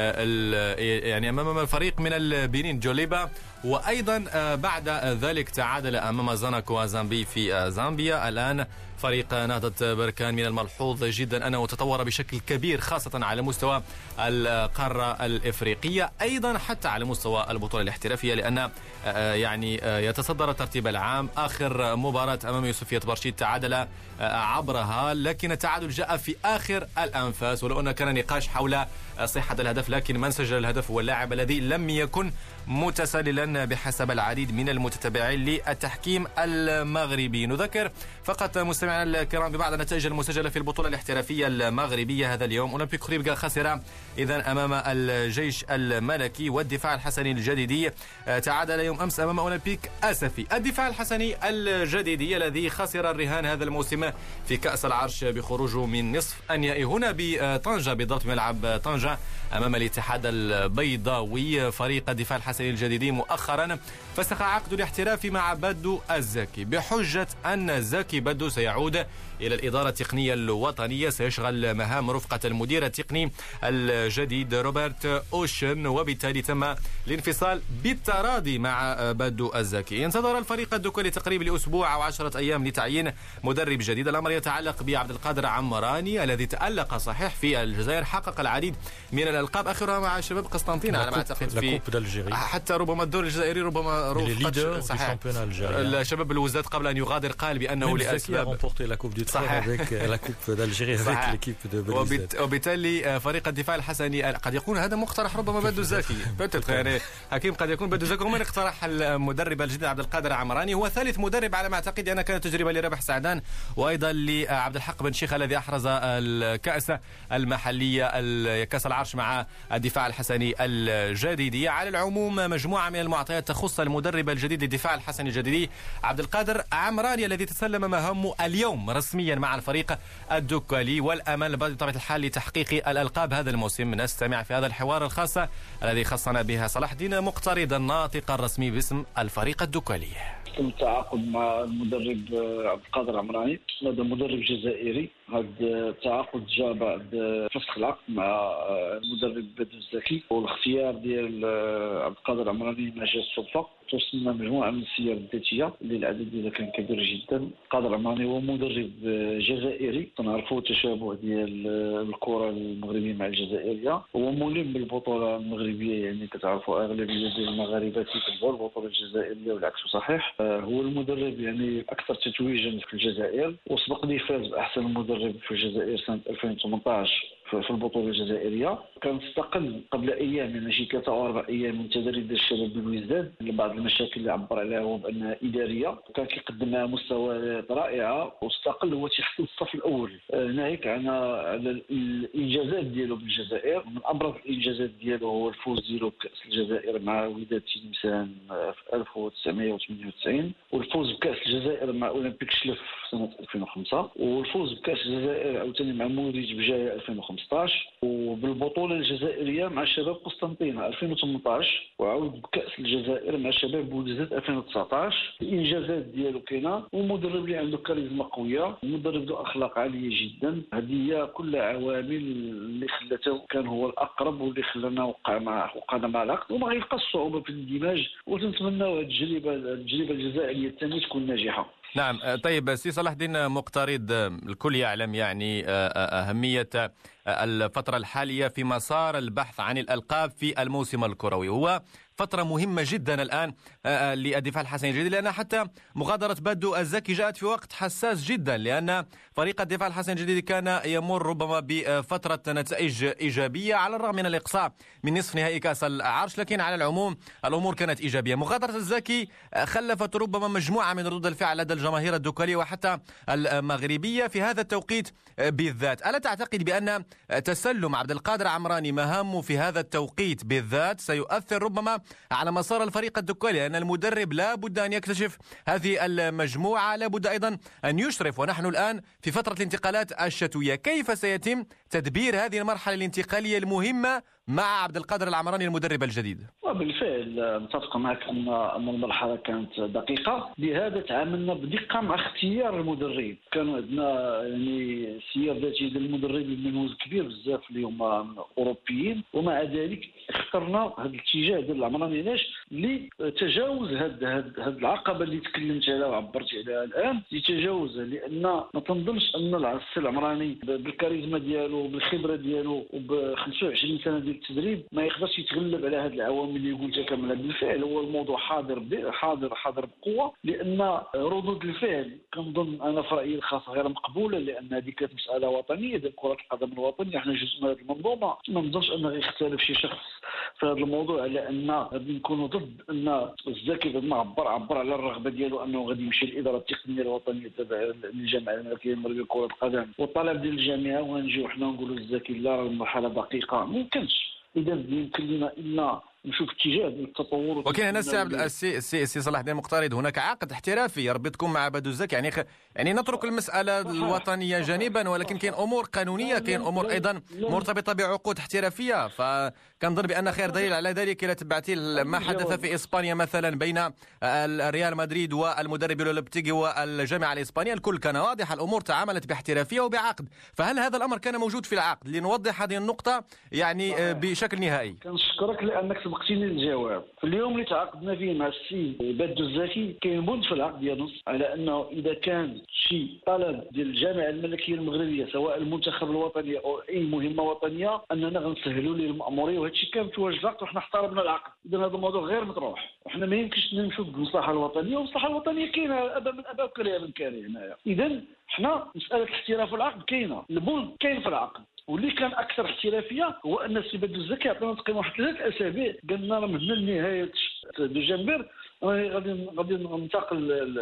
يعني أمام الفريق من البنين جوليبا، وأيضا بعد ذلك تعادل أمام زاناكو زامبي في زامبيا. الآن فريق نهضة بركان من الملحوظ جدا أنه تطور بشكل كبير خاصة على مستوى القارة الإفريقية، أيضا حتى على مستوى البطولة الاحترافية، لأن يعني يتصدر الترتيب العام. آخر مباراة أمام يوسفية برشيد تعادل عبرها، لكن التعادل جاء في آخر الأنفاس، ولو أن كان نقاش حول صحة الهدف، لكن من سجل الهدف هو اللاعب الذي لم يكن متسللا بحسب العديد من المتتبعين للتحكيم المغربي. نذكر فقط مستمعينا الكرام ببعض النتائج المسجلة في البطولة الاحترافية المغربية هذا اليوم. أولمبيك خريبكا خسر إذن أمام الجيش الملكي، والدفاع الحسني الجديدي تعادل يوم أمس أمام أولمبيك أسفي. الدفاع الحسني الجديدي الذي خسر الرهان هذا الموسم في كأس العرش بخروجه من نصف النهائي هنا بطنجة، بالضبط ملعب طنجة أمام الاتحاد البيضاوي. فريق الدفاع الحسني الجديدي مؤخرا فسخ عقد الاحتراف مع بدو الزكي بحجة أن زكي بدو سيعود إلى الإدارة التقنية الوطنية، سيشغل مهام رفقة المدير التقني الجديد روبرت أوشن، وبالتالي تم الانفصال بالتراضي مع بدو الزكي. ينتظر الفريق الدكولي تقريبا لأسبوع أو عشرة أيام لتعيين مدرب جديد. الأمر يتعلق بعبد القادر عمراني الذي تألق صحيح في الجزائر، حقق العديد من الألقاب آخرها مع شباب قسطنطينة على ما أعتقد، في حتى ربما الدور الجزائري ربما رفقة صحيح الشباب الوزات قبل أن يغادر قال بأنه لأسباب صحيح وبالتالي فريق الدفاع الحسني قد يكون هذا مقترح ربما بدو الزكي يعني حكيم، قد يكون بدو الزكي ومن اقترح المدرب الجديد عبد القادر عمراني. هو ثالث مدرب على ما أعتقد، أنا كانت تجربة لربح سعدان وأيضا لعبد الحق بن شيخ الذي أحرز الكأس المحلية كأس العرش مع الدفاع الحسني الجديدي. على العموم مجموعة من المعطيات تخص المدرب الجديد للدفاع الحسني الجديدي عبد القادر عمراني الذي تسلم مهام اليوم رسميا مع الفريق الدكالي، والأمل بطبيعة الحال لتحقيق الألقاب هذا الموسم. نستمع في هذا الحوار الخاص الذي خصنا بها صلاح الدين مقترض الناطق الرسمي باسم الفريق الدكالي. تم التعاقد مع المدرب عبد القادر عمراني، هذا مدرب جزائري. هذا التعاقد جاء بعد فسخ العقد مع المدرب بدر الزكي، والاختيار ديال عبد القادر عمراني ما جاش صدفه. توصلنا مجموعه من السير الذاتيه اللي العدد ديالها كان كبير جدا. قادر عمراني هو مدرب جزائري، تنعرفوا التشابه ديال الكره المغربيه مع الجزائريه. هو ملم بالبطوله المغربيه، يعني كتعرفوا اغلبيه ديال المغاربه كيتبعوا البطوله الجزائريه والعكس صحيح. هو المدرب يعني اكثر تتويجا في الجزائر، وسبق لي فاز باحسن مدرب في الجزائر سنه ألفين وثمانطاش في البطوله الجزائريه. كان استقل قبل ايام، يعني شي ثلاثه او اربع ايام من تدريب الشباب بالوزداد لبعض المشاكل اللي عبر عليها هو بانها اداريه، وكان كيقدم معها مستويات رائعه، واستقل هو تيحصل الصف الاول. ناهيك عن على الانجازات ديالو بالجزائر، من ابرز الانجازات ديالو هو الفوز ديالو بكاس الجزائر مع وداد تلمسان في ألف وتسعمائة وثمانية وتسعين، والفوز بكاس الجزائر مع اولمبيك شلف في سنه ألفين وخمسة، والفوز بكاس الجزائر عاوتاني مع موريج بجايه ألفين وخمسطاش، وبالبطوله الجزائريه مع شباب قسطنطينه ألفين وثمنطاش، وعاود بكاس الجزائر مع شباب بولزات ألفين وتسعطاش. الانجازات ديالو كاينه، ومدرب اللي عنده كاريزما قويه، مدرب ذو اخلاق عاليه جدا. هذه هي كل عوامل اللي خلته كان هو الاقرب، واللي خلانا وقع مع وقعنا مع العقد، وما غيبقاش صعوبه في الاندماج، وتنتمناو هذه التجربه التجربه الجزائريه الثانيه تكون ناجحه. نعم. طيب سي صلاح الدين مقترض، الكل يعلم يعني أهمية الفترة الحالية في مسار البحث عن الألقاب في الموسم الكروي. هو فترة مهمة جدا الآن للدفاع الحسني الجديد، لأن حتى مغادرة بدو الزكي جاءت في وقت حساس جدا، لأن فريق الدفاع الحسني الجديد كان يمر ربما بفترة نتائج إيجابية على الرغم من الإقصاء من نصف نهائي كأس العرش، لكن على العموم الأمور كانت إيجابية. مغادرة الزكي خلفت ربما مجموعة من ردود الفعل لدى الجماهير الدكالية وحتى المغربية في هذا التوقيت بالذات. ألا تعتقد بأن تسلم عبد القادر عمراني مهامه في هذا التوقيت بالذات سيؤثر ربما على مسار الفريق الدكالي، لأن المدرب لا بد أن يكتشف هذه المجموعة، لا بد أيضا أن يشرف، ونحن الآن في فترة الانتقالات الشتوية. كيف سيتم تدبير هذه المرحلة الانتقالية المهمة مع عبد القادر العمراني المدرب الجديد؟ وبالفعل متفق معك ان ان المرحله كانت دقيقه، لهذا تعاملنا بدقه مع اختيار المدرب. كانوا عندنا يعني سير ذاتي ديال المدربين من وزن كبير بزاف اللي هما اوروبيين، ومع ذلك اخترنا هذا الاتجاه ديال العمراني. علاش؟ لتجاوز هذه هذه العقبه اللي تكلمت عليها وعبرت عليها الان، لتجاوزها، لان ما تنظنش ان العسل العمراني بالكاريزما ديالو بالخبره ديالو وب خمسة وعشرين سنه ديال التدريب ما يقدرش يتغلب على هذه العوامل اللي قلتها كامله. بالفعل هو الموضوع حاضر حاضر حاضر بقوه، لان ردود الفعل كنظن انا في رايي الخاص غير مقبوله، لان هذه كانت مساله وطنيه ديال كره القدم الوطنيه، احنا جزء من هذه المنظومه. ما نظنش ان غيختلف شي شخص في هذا الموضوع على ان غادي نكونوا ضد ان الزكي لما عبر عبر على الرغبه ديالو انه غادي يمشي للاداره التقنيه الوطنيه تبع الجامعه الملكيه المغربيه لكره القدم، والطلب ديال الجامعه ونجيو حنا نقولوا الزكي لا، المرحله دقيقه. ما يمكنش، اذا يمكن لنا الا نشوف اتجاه التطور. وكاين هنا السي السي سي صلاح الدين مقترض، هناك عقد احترافي يربطكم مع بدو الزكي، يعني خ... يعني نترك المساله الوطنيه جانبا، ولكن كاين امور قانونيه، كاين امور ايضا مرتبطه بعقود احترافيه. فكنظن بان خير دليل على ذلك الى تبعتي ما حدث في اسبانيا مثلا بين الريال مدريد والمدرب لوبتيغي والجامعه الاسبانيه، الكل كان واضح، الامور تعاملت باحترافيه وبعقد. فهل هذا الامر كان موجود في العقد؟ لنوضح هذه النقطه يعني بشكل نهائي. كنشكرك لانك سبقتيني الجواب. في اليوم اللي تعاقدنا فيه مع السي بدو الزكي كاين بند في العقد ديالو على انه اذا كان شي طلب ديال الجامعه الملكيه المغربيه سواء المنتخب الوطني او اي مهمه وطنيه اننا غنسهلوا ليه الماموريه، وهذا الشيء كان متواجد في العقد وحنا احترمنا العقد. اذا هذا الموضوع غير مطروح، وحنا ما يمكنش نمشوا بالمصلحه الوطنيه، والمصلحه الوطنيه كاينه ابا من ابا وكريه من كاري هنايا. اذا حنا مساله الاحتراف في العقد كاينه، البند كاين في العقد. واللي كان اكثر احترافيه هو ان السي بدو الزكي عطانا تقريبا واحد ثلاث اسابيع، قال لنا من هنا لنهايه دجنبر غادي غادي ننتقل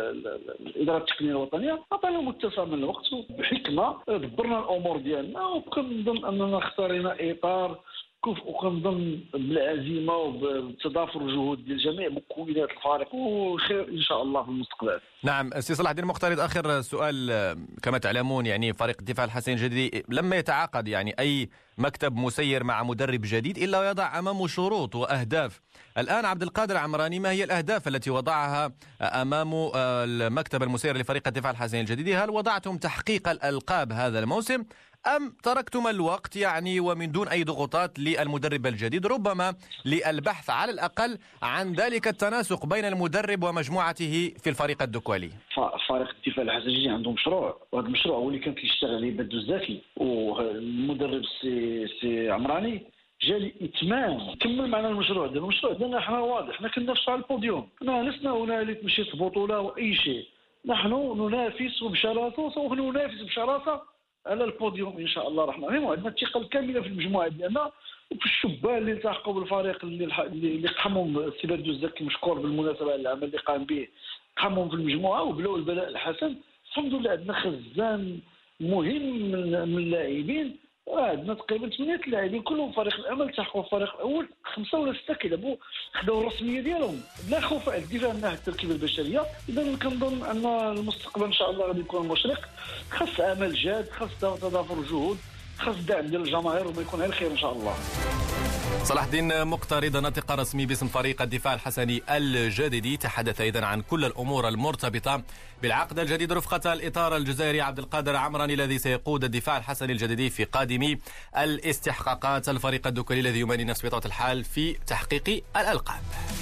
الاداره التقنيه الوطنيه. عطانا متسع من الوقت وبحكمه دبرنا الامور ديالنا، وكنظن اننا اختارينا اطار وكنظن بالعزيمه وبتضافر الجهود ديال جميع مكونات الفريق وخير ان شاء الله في المستقبل. نعم سي صلاح الدين مختارض، اخر سؤال. كما تعلمون يعني فريق الدفاع الحسني الجديدي لما يتعاقد يعني اي مكتب مسير مع مدرب جديد الا ويضع امامه شروط واهداف. الان عبد القادر عمراني، ما هي الاهداف التي وضعها امام المكتب المسير لفريق الدفاع الحسني الجديدي؟ هل وضعتم تحقيق الالقاب هذا الموسم أم تركتم الوقت يعني ومن دون أي ضغوطات للمدرب الجديد، ربما للبحث على الأقل عن ذلك التناسق بين المدرب ومجموعته في الفريق الدكوالي؟ فريق الدفاع الحسني عندهم مشروع، وهذا المشروع هو اللي كان كيشتغل عليه بدو الزكي، والمدرب سي سي عمراني جا لإتمام كمل معنا المشروع ديالنا. المشروع ديالنا حنا واضح، حنا كننافسوا على البوديوم، حنا لسنا هنا لتمشيط بطولة وأي شيء، نحن ننافس بشراسة وسوف ننافس بشراسة على البوديوم ان شاء الله الرحمن الرحيم. وعندنا الثقه الكامله في المجموعه ديالنا وفي الشبان اللي التحقوا بالفريق اللي اللي قاموا السي بدو الزكي مشكور بالمناسبه على العمل اللي قام به، قاموا في المجموعه وبلاو البلاء الحسن. الحمد لله عندنا خزان مهم من اللاعبين، عندنا تقريبا ثمانية لاعبين كلهم فريق الامل التحقوا في الفريق الاول، خمسه ولا سته كيلعبوا خداو الرسميه ديالهم بلا خوف على الدفاع من ناحيه التركيبه البشريه. اذا كنظن ان المستقبل ان شاء الله غادي يكون مشرق، خاص عمل جاد، خاص تضافر جهود، خاص دعم ديال الجماهير وما يكون غير خير ان شاء الله. صلاح الدين مقترض ناطق رسمي باسم فريق الدفاع الحسني الجديدي تحدث ايضا عن كل الامور المرتبطه بالعقد الجديد رفقه الاطار الجزائري عبد القادر عمراني الذي سيقود الدفاع الحسني الجديدي في قادم الاستحقاقات. الفريق الدكولي الذي يماني نفسه بطبيعه الحال في تحقيق الالقاب.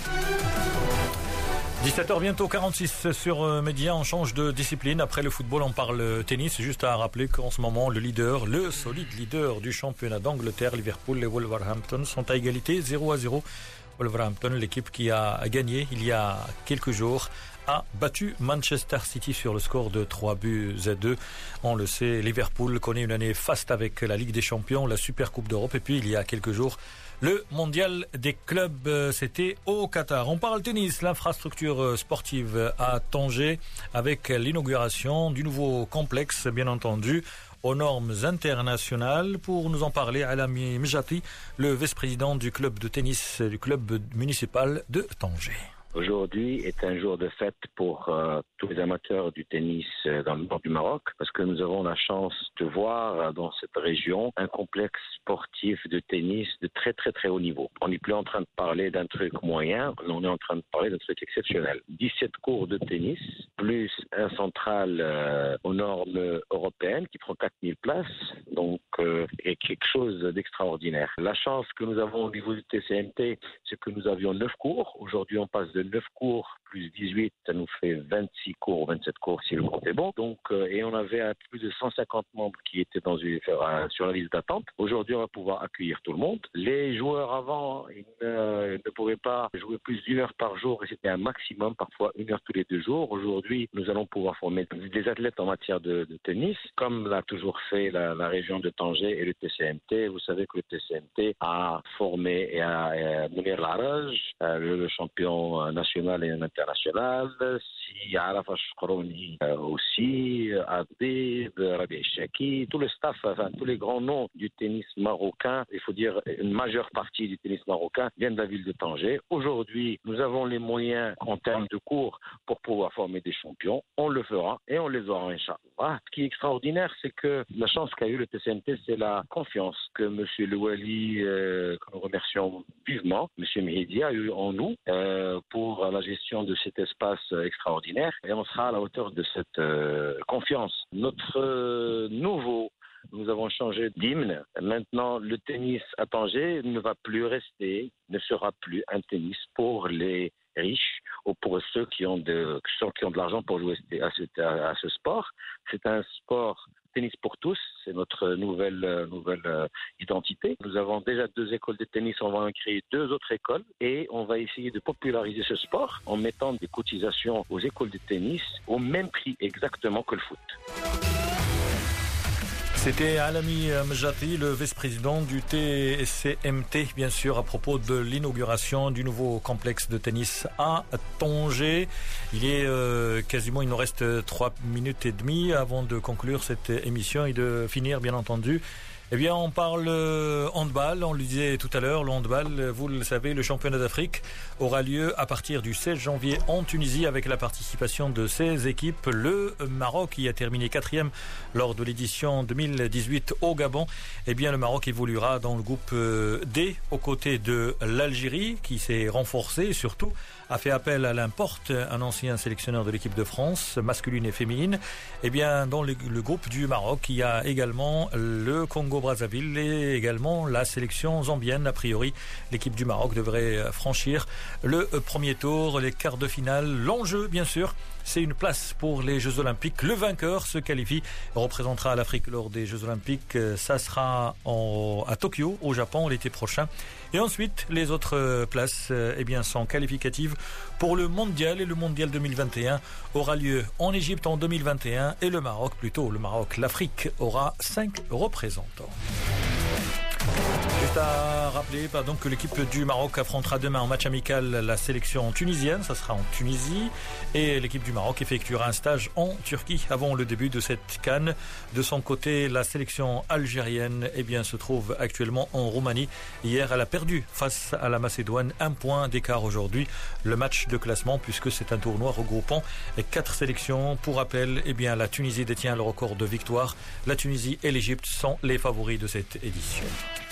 dix-sept heures bientôt, quarante-six sur Média. On change de discipline. Après le football, on parle tennis. Juste à rappeler qu'en ce moment, le leader, le solide leader du championnat d'Angleterre, Liverpool et Wolverhampton sont à égalité zéro à zéro. Wolverhampton, l'équipe qui a gagné il y a quelques jours, a battu Manchester City sur le score de trois buts à deux. On le sait, Liverpool connaît une année faste avec la Ligue des Champions, la Super Coupe d'Europe et puis il y a quelques jours, le mondial des clubs, c'était au Qatar. On parle tennis, l'infrastructure sportive à Tanger avec l'inauguration du nouveau complexe, bien entendu, aux normes internationales. Pour nous en parler, Alami Mjati, le vice-président du club de tennis du club municipal de Tanger. Aujourd'hui est un jour de fête pour euh, tous les amateurs du tennis euh, dans le nord du Maroc, parce que nous avons la chance de voir euh, dans cette région un complexe sportif de tennis de très très très haut niveau. On n'est plus en train de parler d'un truc moyen, on est en train de parler d'un truc exceptionnel. dix-sept cours de tennis, plus un central euh, aux normes européennes qui prend quatre mille places, donc euh, est quelque chose d'extraordinaire. La chance que nous avons au niveau du T C M T, c'est que nous avions neuf cours. Aujourd'hui, on passe de neuf cours plus dix-huit, ça nous fait vingt-six cours, vingt-sept cours si le compte est bon. Donc, euh, et on avait euh, plus de cent cinquante membres qui étaient dans une, euh, sur la liste d'attente. Aujourd'hui, on va pouvoir accueillir tout le monde. Les joueurs avant, ils ne, ne pouvaient pas jouer plus d'une heure par jour et c'était un maximum, parfois une heure tous les deux jours. Aujourd'hui, nous allons pouvoir former des athlètes en matière de, de tennis, comme l'a toujours fait la, la région de Tanger et le T C M T. Vous savez que le T C M T a formé et a, a Mounir Laraj, euh, le, le champion national et international, si Arafa Shkrouni aussi, Adib, Rabi Chaki, tout le staff, enfin tous les grands noms du tennis marocain, il faut dire une majeure partie du tennis marocain viennent de la ville de Tanger. Aujourd'hui, nous avons les moyens en termes de cours pour pouvoir former des champions. On le fera et on les aura, Inch'Allah. Ce qui est extraordinaire, c'est que la chance qu'a eu le T C M T, c'est la confiance que M. Louali, euh, que nous remercions vivement, M. Mehidi a eu en nous euh, pour la gestion de cet espace extraordinaire et on sera à la hauteur de cette euh, confiance. Notre euh, nouveau, nous avons changé d'hymne. Maintenant, le tennis à Tanger ne va plus rester, ne sera plus un tennis pour les riches ou pour ceux qui ont de, ceux qui ont de l'argent pour jouer à ce, à ce sport. C'est un sport tennis pour tous, c'est notre nouvelle, euh, nouvelle euh, identité. Nous avons déjà deux écoles de tennis, on va en créer deux autres écoles et on va essayer de populariser ce sport en mettant des cotisations aux écoles de tennis au même prix exactement que le foot. C'était Alami Mjati, le vice-président du T C M T, bien sûr, à propos de l'inauguration du nouveau complexe de tennis à Tanger. Il est euh, quasiment, il nous reste trois minutes et demie avant de conclure cette émission et de finir, bien entendu, Eh bien, on parle handball, on le disait tout à l'heure, le handball, vous le savez, le championnat d'Afrique aura lieu à partir du seize janvier en Tunisie avec la participation de seize équipes. Le Maroc, qui a terminé quatrième lors de l'édition deux mille dix-huit au Gabon, eh bien, le Maroc évoluera dans le groupe D aux côtés de l'Algérie qui s'est renforcée et surtout a fait appel à l'importe, un ancien sélectionneur de l'équipe de France, masculine et féminine. Eh bien, dans le, le groupe du Maroc, il y a également le Congo-Brazzaville et également la sélection zambienne. A priori, l'équipe du Maroc devrait franchir le premier tour, les quarts de finale. L'enjeu, bien sûr, c'est une place pour les Jeux Olympiques. Le vainqueur se qualifie, représentera l'Afrique lors des Jeux Olympiques. Ça sera en, à Tokyo, au Japon, l'été prochain. Et ensuite, les autres places eh bien, sont qualificatives pour le Mondial. Et le Mondial deux mille vingt et un aura lieu en Égypte en deux mille vingt et un. Et le Maroc, plutôt le Maroc, l'Afrique aura cinq représentants. Juste à rappeler pardon, que l'équipe du Maroc affrontera demain en match amical la sélection tunisienne, ça sera en Tunisie, et l'équipe du Maroc effectuera un stage en Turquie avant le début de cette CAN. De son côté, la sélection algérienne eh bien, se trouve actuellement en Roumanie. Hier, elle a perdu face à la Macédoine, un point d'écart aujourd'hui, le match de classement, puisque c'est un tournoi regroupant quatre sélections. Pour rappel, eh bien, la Tunisie détient le record de victoires. La Tunisie et l'Égypte sont les favoris de cette édition.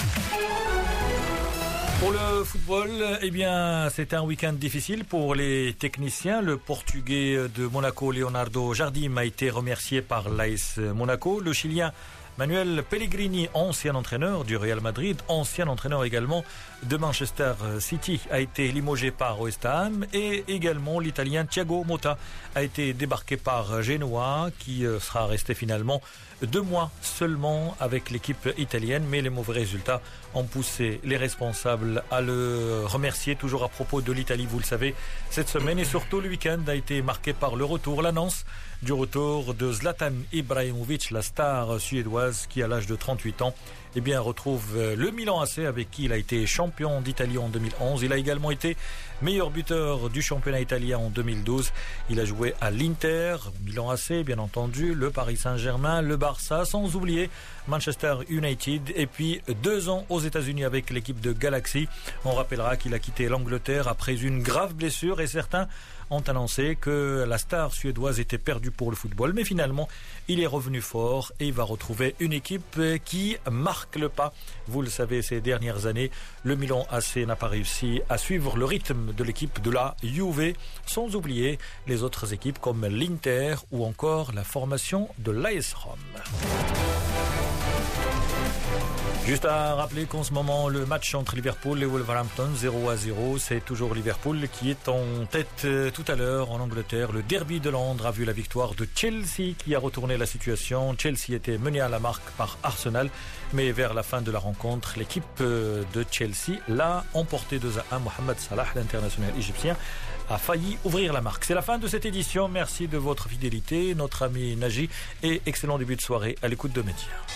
Pour le football, eh bien, c'est un week-end difficile pour les techniciens. Le Portugais de Monaco, Leonardo Jardim, a été remercié par l'A S Monaco. Le Chilien Manuel Pellegrini, ancien entraîneur du Real Madrid, ancien entraîneur également de Manchester City, a été limogé par West Ham. Et également l'Italien Thiago Motta a été débarqué par Genoa, qui sera resté finalement deux mois seulement avec l'équipe italienne. Mais les mauvais résultats ont poussé les responsables à le remercier. Toujours à propos de l'Italie, vous le savez, cette semaine et surtout le week-end a été marqué par le retour, l'annonce du retour de Zlatan Ibrahimovic, la star suédoise qui, à l'âge de trente-huit ans, eh bien, retrouve le Milan A C avec qui il a été champion d'Italie en deux mille onze. Il a également été meilleur buteur du championnat italien en deux mille douze. Il a joué à l'Inter, Milan A C, bien entendu, le Paris Saint-Germain, le Barça, sans oublier Manchester United, et puis deux ans aux États-Unis avec l'équipe de Galaxy. On rappellera qu'il a quitté l'Angleterre après une grave blessure et certains ont annoncé que la star suédoise était perdue pour le football, mais finalement il est revenu fort et il va retrouver une équipe qui marque le pas. Vous le savez, ces dernières années, le Milan A C n'a pas réussi à suivre le rythme de l'équipe de la Juve, sans oublier les autres équipes comme l'Inter ou encore la formation de l'A S Rome. Juste à rappeler qu'en ce moment, le match entre Liverpool et Wolverhampton, zéro à zéro, c'est toujours Liverpool qui est en tête tout à l'heure en Angleterre. Le derby de Londres a vu la victoire de Chelsea qui a retourné la situation. Chelsea était mené à la marque par Arsenal, mais vers la fin de la rencontre, l'équipe de Chelsea l'a emporté deux à un. Mohamed Salah, l'international égyptien, a failli ouvrir la marque. C'est la fin de cette édition. Merci de votre fidélité, notre ami Naji, et excellent début de soirée à l'écoute de Média.